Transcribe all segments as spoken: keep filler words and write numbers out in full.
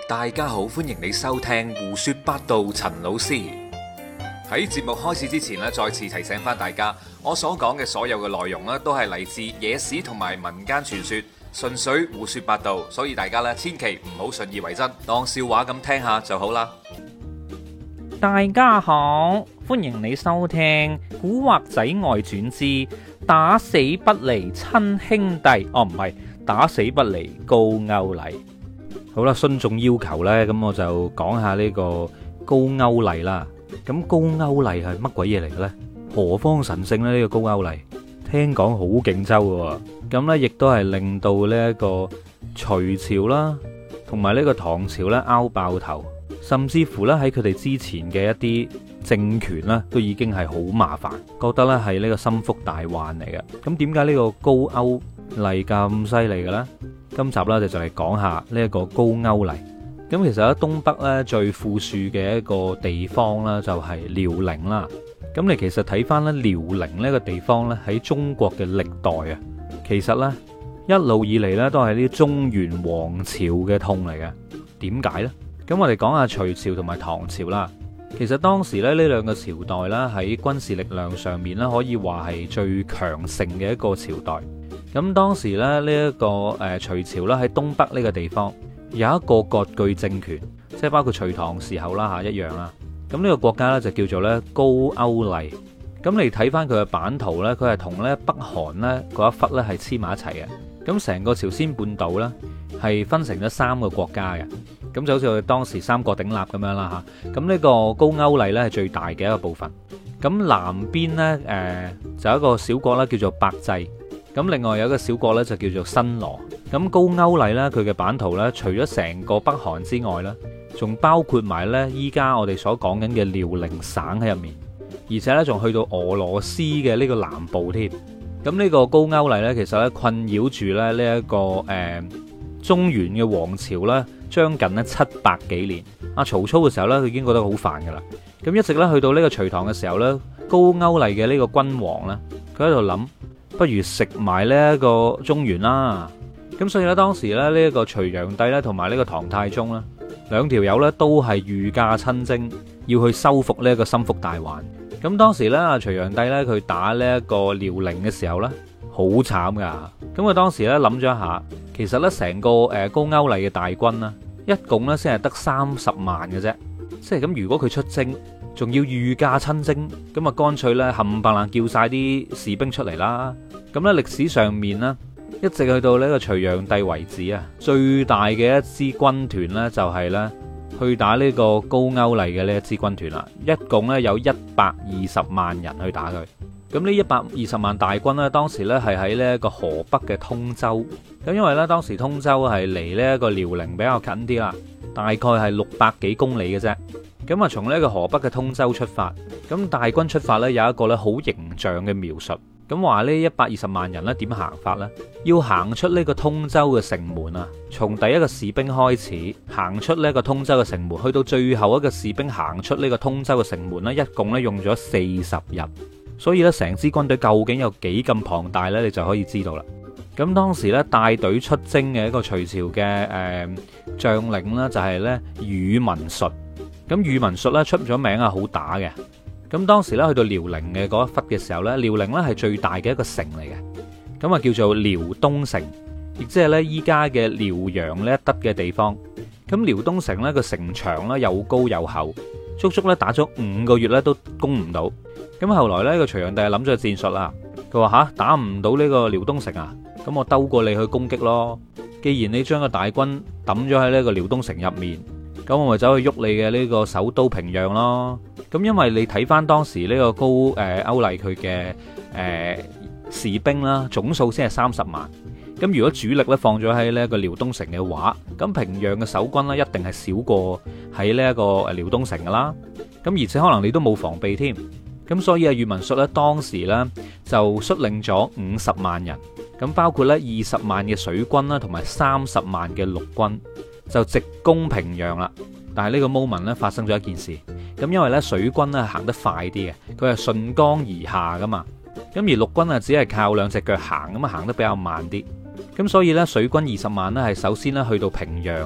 大家好，歡迎你收聽胡說八道。陳老師喺節目開始之前咧，再次提醒翻大家，我所講嘅所有嘅內容咧，都係嚟自野史同埋民間傳說，純粹胡說八道，所以大家咧千祈唔好信以為真，當笑話咁聽下就好啦。 大家好，歡迎你收聽《古惑仔外傳之打死不離親兄弟》。哦，唔係打死不離高歐麗。好啦，信眾要求呢，咁我就講下呢個高歐麗啦。咁高歐麗係乜鬼嘢嚟嘅咧？何方神聖呢？呢、這個高歐麗聽講好勁抽嘅，咁呢亦都係令到呢一個隋朝啦，同埋呢個唐朝呢拗爆頭。甚至乎咧喺佢哋之前嘅一啲政權咧，都已經係好麻煩，覺得咧係呢個心腹大患嚟嘅。咁點解呢個高歐麗咁犀利嘅咧？今集咧就就嚟講下呢一個高歐麗。咁其實喺東北咧最富庶嘅一個地方咧就係遼寧啦。咁你其實睇翻咧遼寧呢個地方咧喺中國嘅歷代啊，其實咧一路以嚟咧都係啲中原王朝嘅痛嚟嘅。點解咧？咁我哋講下隋朝同埋唐朝啦。其實當時咧呢兩個朝代啦喺軍事力量上面咧可以話係最強盛嘅一個朝代。咁當時咧呢一個誒隋朝啦喺東北呢個地方有一個割據政權，即係包括隋唐時候啦吓一樣啦。咁呢個國家咧就叫做咧高歐麗。咁你睇翻佢嘅版圖咧，佢係同咧北韓咧嗰一忽咧係黐埋一齊嘅。咁成個朝鮮半島咧係分成咗三個國家嘅。咁就好似我哋當時三國鼎立咁樣啦嚇，咁呢個高歐麗呢係最大嘅一個部分。咁南邊呢，誒、呃、就有一個小國啦，叫做百濟。咁另外有一個小國呢，就叫做新羅。咁高歐麗呢，佢嘅版圖呢，除咗成個北韓之外呢，仲包括埋呢依家我哋所講緊嘅遼寧省喺入面，而且呢，仲去到俄羅斯嘅呢個南部添。咁呢個高歐麗呢，其實呢，困擾住咧呢一個誒、呃、中原嘅王朝呢。將近咧七百幾年，阿曹操嘅時候咧，佢已經覺得好煩噶啦。咁一直咧去到呢個隋唐嘅時候咧，高歐麗嘅呢個君王咧，佢喺度諗，不如食埋呢一個中原啦。咁所以咧，當時咧呢一個隋煬帝咧，同埋呢個唐太宗咧，兩條友咧都係御駕親征，要去收復呢一個心腹大患。咁當時咧，阿隋煬帝咧，佢打呢一個遼寧嘅時候咧，好慘噶。咁佢當時咧諗咗一下，其實咧成個誒高歐麗嘅大軍啦，一共咧先係得三十萬嘅啫。即係咁，如果佢出征，仲要御駕親征，咁啊乾脆咧冚唪唥叫晒啲士兵出嚟啦。咁咧歷史上面呢，一直去到呢個隋煬帝為止啊，最大嘅一支軍團呢，就係咧去打呢個高歐麗嘅呢一支軍團啦。一共咧有一百二十萬人去打佢。咁呢一百二十萬大軍呢，當時呢係喺呢一個河北嘅通州。咁因為呢，當時通州係離呢一個遼寧比較近啲啦，大概係六百幾公里嘅啫。咁啊，從呢個河北嘅通州出發，咁大軍出發呢，有一個呢好形象嘅描述。咁話呢一百二十萬人呢點行法呢？要行出呢個通州嘅城門啊，從第一個士兵開始行出呢個通州嘅城門，去到最後一個士兵行出呢個通州嘅城門呢，一共呢用咗四十日。所以咧，成支軍隊究竟有幾咁龐大呢？你就可以知道啦。咁當時咧帶隊出征嘅一個隋朝嘅誒、呃、將領呢，就係咧宇文述。咁宇文述咧出咗名啊，好打嘅。咁當時咧去到遼寧嘅嗰一忽嘅時候咧，遼寧咧係最大嘅一個城嚟嘅。咁啊叫做遼東城，亦即係咧依家嘅遼陽呢一笪嘅地方。咁遼東城咧個城牆咧又高又厚，足足咧打咗五個月咧都攻唔到。咁後來呢個隋煬帝諗咗個戰術啦，佢話吓打唔到呢個遼東城啊，咁我兜過你去攻擊咯。既然你將個大軍抌咗喺呢個遼東城入面，咁我咪走去喐你嘅呢個首都平壤咯。咁因為你睇翻當時呢個高誒歐麗佢嘅誒士兵啦，總數先係三十萬。咁如果主力咧放咗喺呢一個遼東城嘅話，咁平壤嘅守軍咧一定係少過喺呢一個誒遼東城噶啦。咁而且可能你都冇防備添。咁所以啊，宇文述咧當時咧就率領咗五十萬人，咁包括咧二十萬嘅水軍啦，同埋三十萬嘅陸軍，就直攻平壤啦。但係呢個 moment 咧發生咗一件事，咁因為咧水軍咧行得快啲嘅，佢係順江而下噶嘛，咁而陸軍啊只係靠兩隻腳行，咁啊行得比較慢啲。咁所以咧水軍二十萬咧係首先咧去到平壤嘅，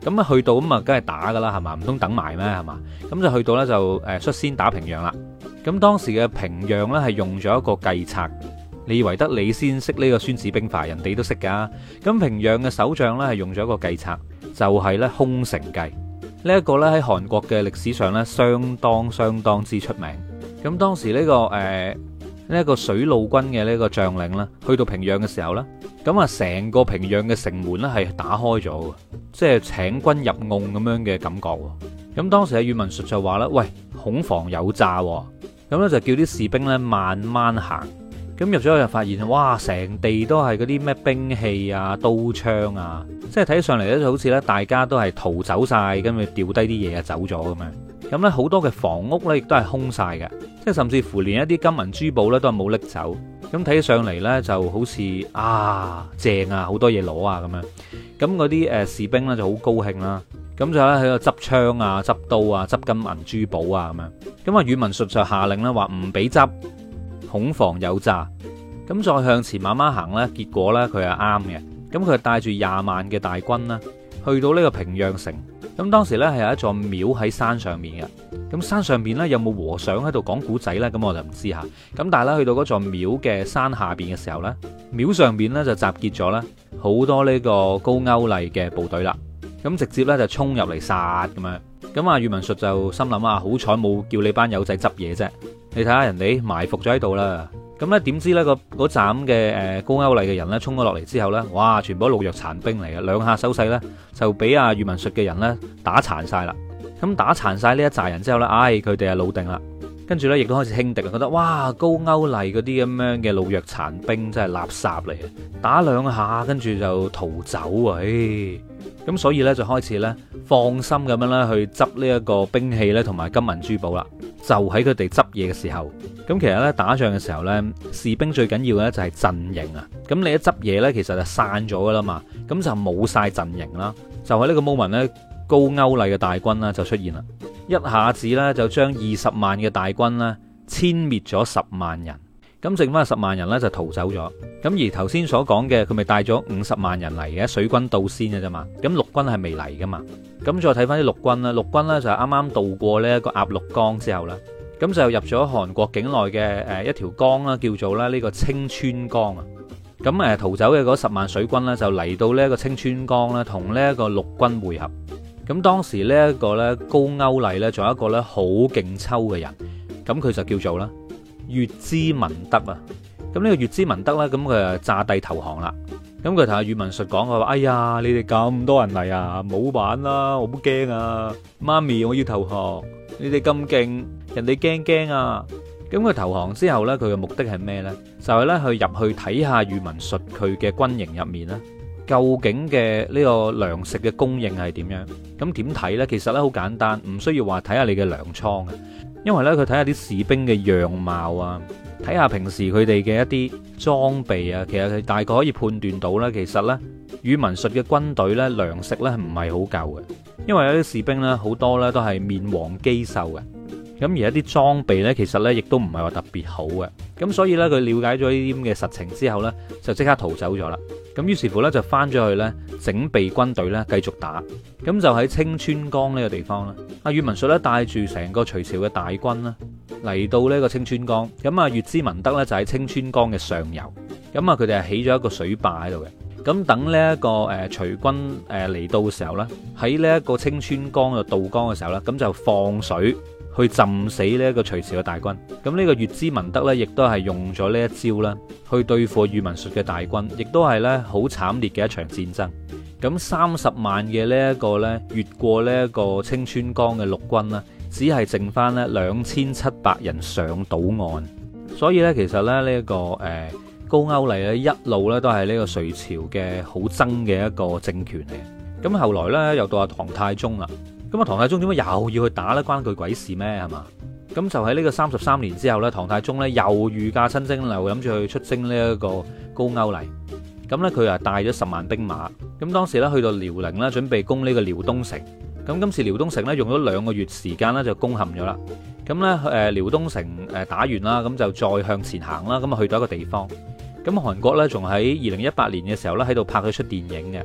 咁啊去到咁啊，梗係打噶啦，係嘛？唔通等埋咩？係嘛？咁就去到呢，就誒率先打平壤啦。咁當時嘅平壤呢，係用咗一個計策，你以為得你先識呢個孫子兵法，人哋都識噶。咁平壤嘅守將呢，係用咗一個計策，就係呢空城計。呢一個呢，喺韓國嘅歷史上呢，相當相當之出名。咁當時呢、這個誒呢一個水路軍嘅呢個將領呢，去到平壤嘅時候呢，咁啊成個平壤嘅城門呢，係打開咗，即係請君入瓮咁樣嘅感覺。咁當時嘅宇文述就話啦：喂，恐防有詐。咁咧就叫啲士兵咧慢慢行，咁入咗去就發現，哇！成地都係嗰啲咩兵器啊、刀槍啊，即係睇上嚟咧就好似咧大家都係逃走晒，跟住掉低啲嘢啊走咗咁樣。咁咧好多嘅房屋咧亦都係空晒嘅，即係甚至乎連一啲金銀珠寶咧都係冇拎走。咁睇起上嚟咧就好似啊正啊，好多嘢攞啊咁樣。咁嗰啲誒士兵咧就好高興啦。咁就咧喺度執槍啊、執刀啊、執金銀珠寶啊咁樣。咁啊，宇文述就下令咧話唔俾執，恐防有詐。咁再向前慢慢行咧，結果咧佢係啱嘅。咁佢係帶住廿萬嘅大軍啦，去到呢個平壤城。咁當時咧係有一座廟喺山上面嘅。咁山上面咧有冇和尚喺度講古仔咧？咁我就唔知吓。咁但係咧去到嗰座廟嘅山下邊嘅時候咧，廟上邊咧就集結咗咧好多呢個高句麗嘅部隊啦。咁直接咧就衝入嚟殺咁樣，咁啊宇文述就心諗啊，好彩冇叫你班友仔執嘢啫，你睇下人哋埋伏咗喺度啦。咁咧點知咧個嗰站嘅誒高句麗嘅人咧衝咗落嚟之後咧，哇，全部都老弱殘兵嚟嘅，兩下手勢咧就俾阿宇文述嘅人咧打殘晒啦。咁打殘晒呢一紮人之後咧，唉，佢哋啊老定啦，跟住咧亦都開始輕敵啊，覺得哇高句麗嗰啲咁樣嘅老弱殘兵真係垃圾嚟嘅，打兩下跟住就逃走啊！唉。咁所以咧就開始咧放心咁樣咧去執呢一個兵器咧同埋金銀珠寶啦。就喺佢哋執嘢嘅時候，咁其實咧打仗嘅時候咧，士兵最緊要嘅咧就係陣營啊。咁你一執嘢咧，其實就散咗噶啦嘛，咁就冇晒陣營啦。就喺呢個 moment 咧，高句麗嘅大軍啦就出現啦，一下子咧就將二十萬嘅大軍咧殲滅咗十萬人。咁剩翻十萬人咧就逃走咗。咁而頭先所講嘅佢咪帶咗五十萬人嚟嘅水軍到先嘅啫嘛。咁陸軍係未嚟噶嘛。咁再睇翻啲陸軍啦，陸軍咧就啱啱渡過呢一個鴨綠江之後啦，咁就入咗韓國境內嘅誒一條江啦，叫做咧呢個清川江啊。咁誒逃走嘅嗰十萬水軍咧就嚟到呢一個清川江咧，同呢一個陸軍會合。咁當時呢一個咧高句麗咧仲有一個咧好勁抽嘅人，咁佢就叫做啦乙支文德啊。咁呢個乙支文德咧，咁佢就詐帝投降啦。咁佢同阿宇文述講，佢話：哎呀，你哋咁多人嚟啊，冇玩啦，我好驚啊！媽咪，我要投降。你哋咁勁，人哋驚驚啊！咁佢投降之後呢，佢嘅目的係咩呢？就係咧去入去睇下宇文述佢嘅軍營入面咧，究竟嘅呢個糧食嘅供應係點樣？咁點睇呢？其實咧好簡單，唔需要話睇下你嘅糧倉嘅，因為呢，佢睇下啲士兵嘅樣貌啊。睇下平時佢哋嘅一啲裝備啊，其實佢大概可以判斷到呢。其實呢，宇文述嘅軍隊呢，糧食呢唔係好夠嘅，因為有啲士兵呢，好多呢都係面黃肌瘦嘅，咁而一啲裝備呢，其實呢亦都唔係話特別好嘅，咁所以呢，佢了解咗呢啲咁嘅實情之後呢，就即刻逃走咗啦。咁於是乎呢，就翻咗去呢，整備軍隊呢，繼續打。咁就喺清川江呢個地方啦，阿宇文述呢，帶住成個隋朝嘅大軍啦，嚟到呢個清川江。咁啊，乙支文德呢，就喺清川江嘅上游。咁啊，佢哋係起咗一個水壩喺度嘅。咁等呢一個誒隋軍誒嚟到嘅時候呢，喺呢一個清川江度渡江嘅時候呢，咁就放水去浸死呢一個隋朝嘅大軍。咁呢個乙支文德呢，亦都係用咗呢一招啦，去對付宇文述嘅大軍，亦都係呢好慘烈嘅一場戰爭。咁三十萬嘅呢一個呢，越過呢一個清川江嘅陸軍呢，只係剩翻呢兩千七百人上到岸。所以呢，其實咧呢一個誒高句麗咧一路呢都係呢個隋朝嘅好憎嘅一個政權嚟。咁後來呢，又到阿唐太宗啦。咁啊，唐太宗點解又要去打呢？關佢鬼事咩？係嘛？咁就喺呢個三十三年之後呢，唐太宗呢又御駕親征，又諗住去出征呢一個高句麗。咁呢，佢啊帶咗十萬兵馬。咁當時呢，去到遼寧呢，準備攻呢個遼東城。咁今次遼東城呢，用咗兩個月時間呢，就攻陷咗啦。咁呢，誒遼東城誒打完啦，咁就再向前行啦。咁啊去到一個地方。咁韓國呢，仲喺二零一八年嘅時候呢，喺度拍咗出電影嘅。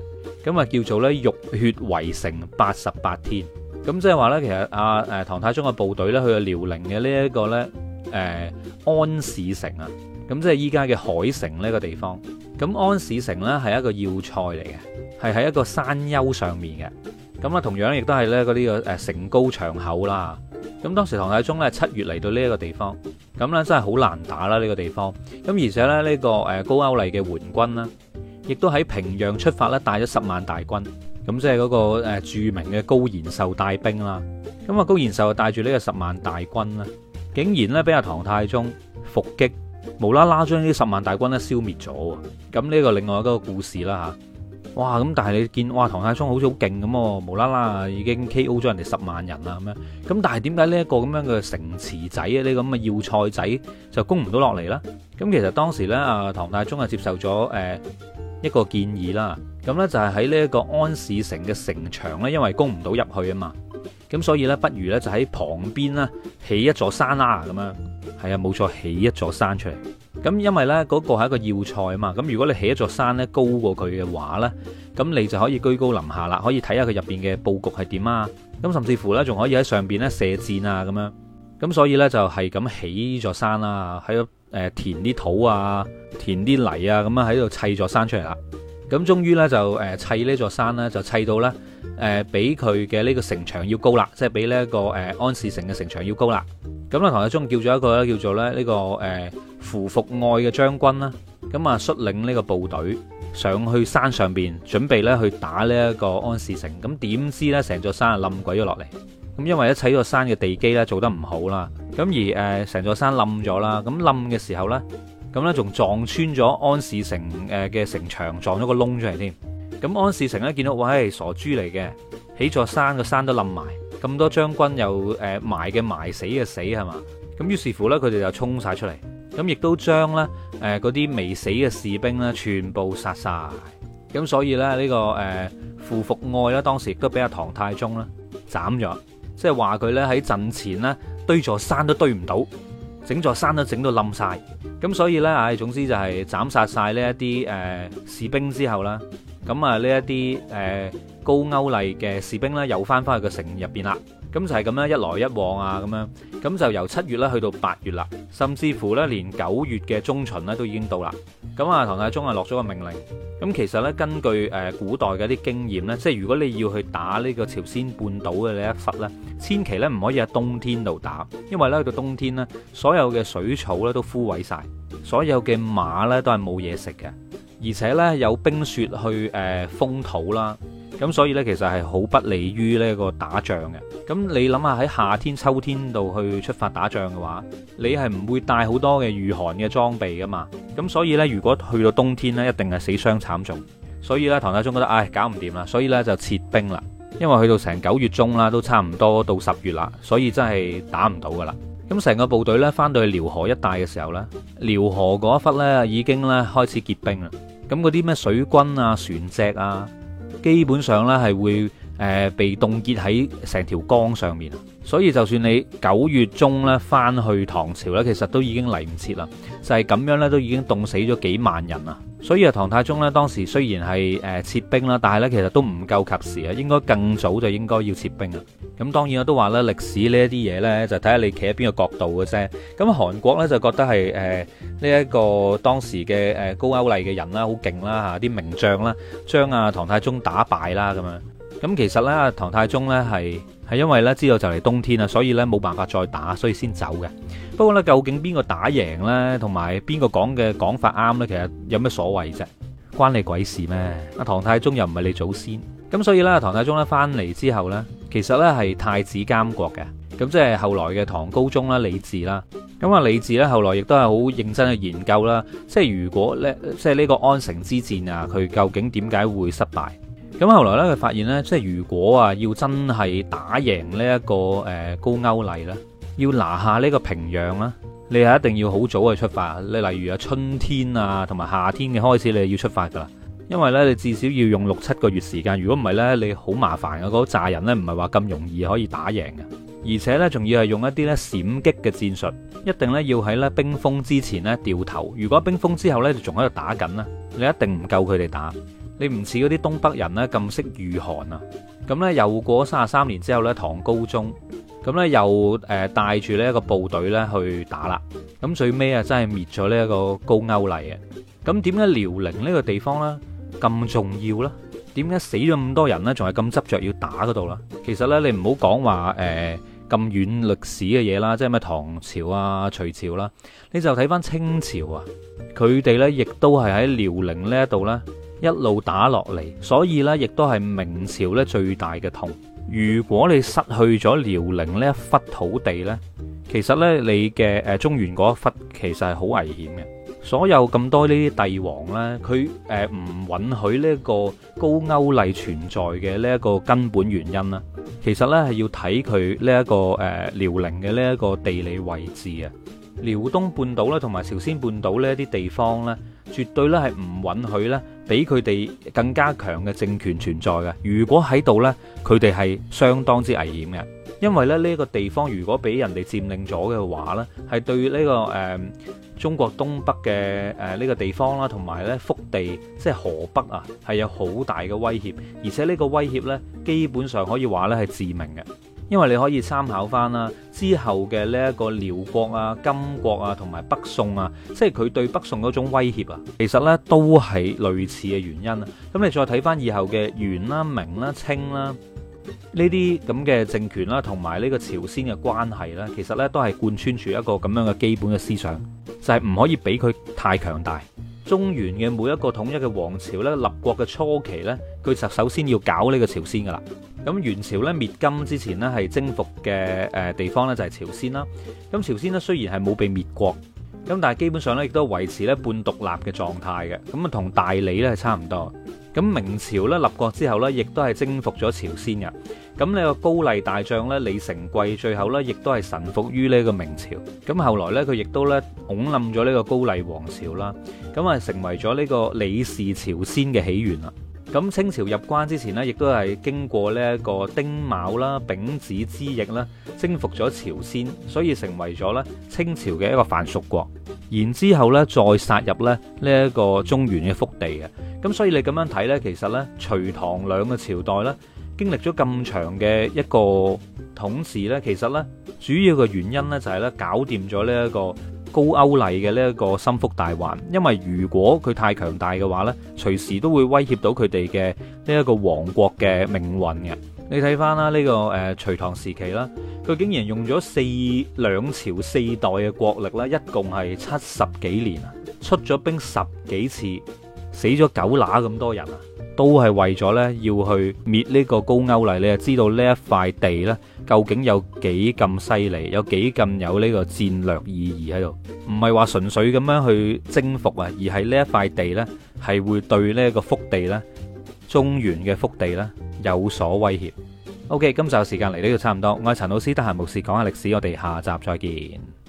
咁啊叫做咧浴血圍城八十八天。咁即係話咧，其實阿誒唐太宗嘅部隊咧去到遼寧嘅呢一個咧誒安市城啊，咁即係依家嘅海城呢個地方。咁安市城咧係一個要塞嚟嘅，係喺一個山丘上面嘅。咁啊同樣亦都係咧嗰啲個誒城高牆厚啦。咁當時唐太宗咧七月嚟到呢一個地方，咁咧真係好難打啦呢個地方。咁而且咧呢個誒高句麗嘅援軍啦，亦都喺平壤出發咧，帶咗十萬大軍。咁即係嗰個誒著名嘅高延壽帶兵啦。咁啊高延壽就帶住呢個十萬大軍啦，竟然咧俾阿唐太宗伏擊，無啦啦將呢十萬大軍咧消滅咗。咁呢個另外一個故事啦吓。哇！咁但係你見哇唐太宗好似好勁咁喎，無啦啦已經 K O 咗人哋十萬人啦咁樣。咁但係點解呢一個咁樣嘅城池仔啊，呢咁嘅要塞仔就攻唔到落嚟咧？咁其實當時咧啊唐太宗係接受咗誒一個建議啦。咁咧就係喺呢一個安市城嘅城牆咧，因為攻唔到入去啊嘛。咁所以咧，不如咧就喺旁邊咧起一座山啦咁樣。係啊，冇錯，起一座山出嚟。咁因為咧嗰個係一個要塞啊嘛，咁如果你起一座山咧高過佢嘅話咧，咁你就可以居高臨下啦，可以睇下佢入邊嘅佈局係點啊，咁甚至乎咧仲可以喺上邊咧射箭啊咁樣，咁所以咧就係咁起座山啦，喺度誒填啲土啊，填啲泥啊，咁樣喺度砌座山出嚟啦。咁終於咧就誒砌呢座山咧就砌到咧誒比佢嘅呢個城牆要高啦，即係比呢一個誒安市城嘅城牆要高啦。咁咧唐太宗叫咗一個咧叫做咧呢個誒符伏愛嘅將軍啦，咁啊率領呢個部隊上去山上邊，準備咧去打呢一個安市城。咁點知咧成座山啊冧鬼咗落嚟。咁因為一砌個山嘅地基咧做得唔好啦，咁而誒成座山冧咗啦。咁冧嘅時候咧，咁咧仲撞穿咗安市城誒嘅城牆，撞咗個窿出嚟添。咁安市城咧見到喂傻豬嚟嘅，起座山個山都冧埋，咁多將軍又誒埋嘅埋死嘅死係嘛？咁於是乎咧佢哋就衝晒出嚟。咁亦都將咧誒嗰啲未死嘅士兵咧全部殺晒。咁所以咧呢個誒符伏愛咧當時亦都俾阿唐太宗咧斬咗，即係話佢咧喺陣前咧堆座山都堆唔到，整座山都整到冧晒。咁所以咧唉，總之就係斬殺晒呢一啲誒士兵之後啦，咁啊呢一啲誒高句麗嘅士兵咧又翻翻去個城入邊啦。咁就係咁樣一來一往啊，咁樣咁就由七月咧去到八月啦，甚至乎咧連九月嘅中旬咧都已經到啦。咁啊，唐太宗啊落咗個命令。咁其實咧根據誒古代嘅啲經驗咧，即係如果你要去打呢個朝鮮半島嘅呢一忽咧，千祈咧唔可以喺冬天度打，因為咧去到冬天咧，所有嘅水草咧都枯萎晒，所有嘅馬咧都係冇嘢食嘅，而且咧有冰雪去誒封土啦。咁所以呢，其實係好不利於呢個打仗嘅。咁你諗下喺夏天、秋天度去出發打仗嘅話，你係唔會帶好多嘅御寒嘅裝備噶嘛。咁所以呢，如果去到冬天呢，一定係死傷慘重。所以呢，唐太宗覺得唉搞唔掂啦，所以呢就撤兵啦。因為去到成九月中啦，都差唔多到十月啦，所以真係打唔到噶啦。咁成個部隊呢，翻到去遼河一帶嘅時候呢，遼河嗰一忽呢已經呢開始結冰啦。咁嗰啲咩水軍啊、船隻啊，基本上咧係會誒、呃、被凍結喺成條江上面，所以就算你九月中咧翻去唐朝咧，其實都已經嚟唔切啦。就係、是、咁樣咧，都已經凍死咗幾萬人啦。所以啊，唐太宗咧當時雖然係誒撤兵啦，但係咧其實都唔夠及時啊，應該更早就應該要撤兵啦。咁當然我都話咧，歷史呢一啲嘢呢，就睇下你企喺邊個角度嘅啫。咁韓國呢，就覺得係誒呢一個當時嘅誒高句麗嘅人啦，好勁啦嚇，啲名將啦，將啊唐太宗打敗啦咁樣。咁其實呢，唐太宗呢係係因為呢知道就嚟冬天啦，所以呢冇辦法再打，所以先走嘅。不過呢，究竟邊個打贏呢？同埋邊個講嘅講法啱呢？其實有咩所謂啫？關你鬼事咩？阿唐太宗又唔係你祖先。咁所以呢，唐太宗呢翻嚟之後呢，其實呢係太子監國嘅。咁即係後來嘅唐高宗啦，李治啦。咁啊，李治呢後來亦都係好認真去研究啦。即係如果呢，即係呢個安城之戰啊，佢究竟點解會失敗？咁後來咧，佢發現咧，即係如果啊，要真係打贏呢一個誒高句麗咧，要拿下呢個平壤啦，你係一定要好早去出發。你例如啊，春天啊，同埋夏天嘅開始，你係要出發噶啦。因為咧，你至少要用六七個月時間。如果唔係咧，你好麻煩嘅。嗰扎人咧，唔係話咁容易可以打贏嘅。而且咧，仲要係用一啲咧閃擊嘅戰術，一定咧要喺咧冰封之前咧掉頭。如果冰封之後咧，就仲喺度打緊啦，你一定唔夠佢哋打。 你唔似嗰啲東北人呢咁識御寒啊。咁呢，又過咗三十三年之後呢，唐高宗咁呢又誒帶住呢一個部隊呢去打啦。咁最尾啊真係滅咗呢一個高句麗啊。咁點解遼寧呢個地方呢咁重要呢？點解死咗咁多人呢？仲係咁執着要打嗰度啦？其實呢，你唔好講話誒咁遠歷史嘅嘢啦，即係咩唐朝啊、隋朝啦，你就睇翻清朝啊，佢哋呢亦都係喺遼寧呢一度呢一路打落嚟，所以呢亦都係明朝呢最大嘅痛。如果你失去咗遼寧呢一忽土地呢，其實呢你嘅誒中原嗰一忽其實係好危險嘅。所有咁多呢啲帝王呢，佢誒唔允許呢一個高句麗存在嘅呢一個根本原因啦，其實呢係要睇佢呢一個誒遼寧嘅呢一個地理位置啊。遼東半島咧同埋朝鮮半島呢一啲地方呢，絕對咧係唔允許呢俾佢哋更加強嘅政權存在嘅。如果喺度呢，佢哋係相當之危險嘅，因為咧呢一個地方如果俾人哋佔領咗嘅話呢，係對呢、這個誒、呃、中國東北嘅誒呢個地方啦，同埋呢腹地即係河北啊，係有好大嘅威脅，而且呢個威脅呢，基本上可以話呢係致命嘅。因為你可以參考翻啦，之後嘅呢一個遼國啊、金國啊同埋北宋啊，即係佢對北宋嗰種威脅啊，其實呢都係類似嘅原因啊。咁你再睇翻以後嘅元啦、明啦、清啦呢啲咁嘅政權啦，同埋呢個朝鮮嘅關係呢，其實呢都係貫穿住一個咁樣嘅基本嘅思想，就係唔可以俾佢太強大。中原嘅每一個統一嘅王朝呢，立國嘅初期呢，佢就首先要搞呢個朝鮮噶啦。咁元朝呢滅金之前呢，係征服嘅誒地方呢，就係朝鮮啦。咁朝鮮呢，雖然係冇被滅國，咁但係基本上呢，亦都維持呢半獨立嘅狀態嘅。咁啊同大理呢係差唔多。咁明朝呢，立國之後呢，亦都係征服咗朝鮮嘅。咁呢個高麗大將呢，李成桂最後呢，亦都係臣服於呢個明朝。咁後來呢，佢亦都呢，拱冧咗呢個高麗王朝啦。咁啊成為咗呢個李氏朝鮮嘅起源啦。咁清朝入關之前呢，亦都係經過呢一個丁卯啦、丙子之役啦，征服咗朝鮮，所以成為咗呢清朝嘅一個藩屬國。然之後呢，再殺入咧呢一個中原嘅腹地嘅。咁所以你咁樣睇呢，其實呢，隋唐兩個朝代呢，經歷咗咁長嘅一個統治呢，其實呢，主要嘅原因呢，就係呢搞掂咗呢一個高句麗嘅呢一個心腹大患。因為如果佢太強大嘅話呢，隨時都會威脅到佢哋嘅呢一個王國嘅命運嘅。你睇翻啦，呢個誒隋唐時期啦，佢竟然用咗四兩朝四代嘅國力啦，一共係七十幾年啊，出咗兵十幾次，死咗九乸咁多人啊，都係為咗呢要去滅呢個高句麗。你就知道呢一塊地呢，究竟有幾咁犀利，有幾咁有呢個戰略意義喺度，唔係話純粹咁樣去征服啊，而係呢一塊地呢，係會對呢個腹地呢，中原嘅腹地呢，有所威脅。OK，今集時間嚟呢度差唔多，我係陳老師，得閒無事講下歷史，我哋下集再見。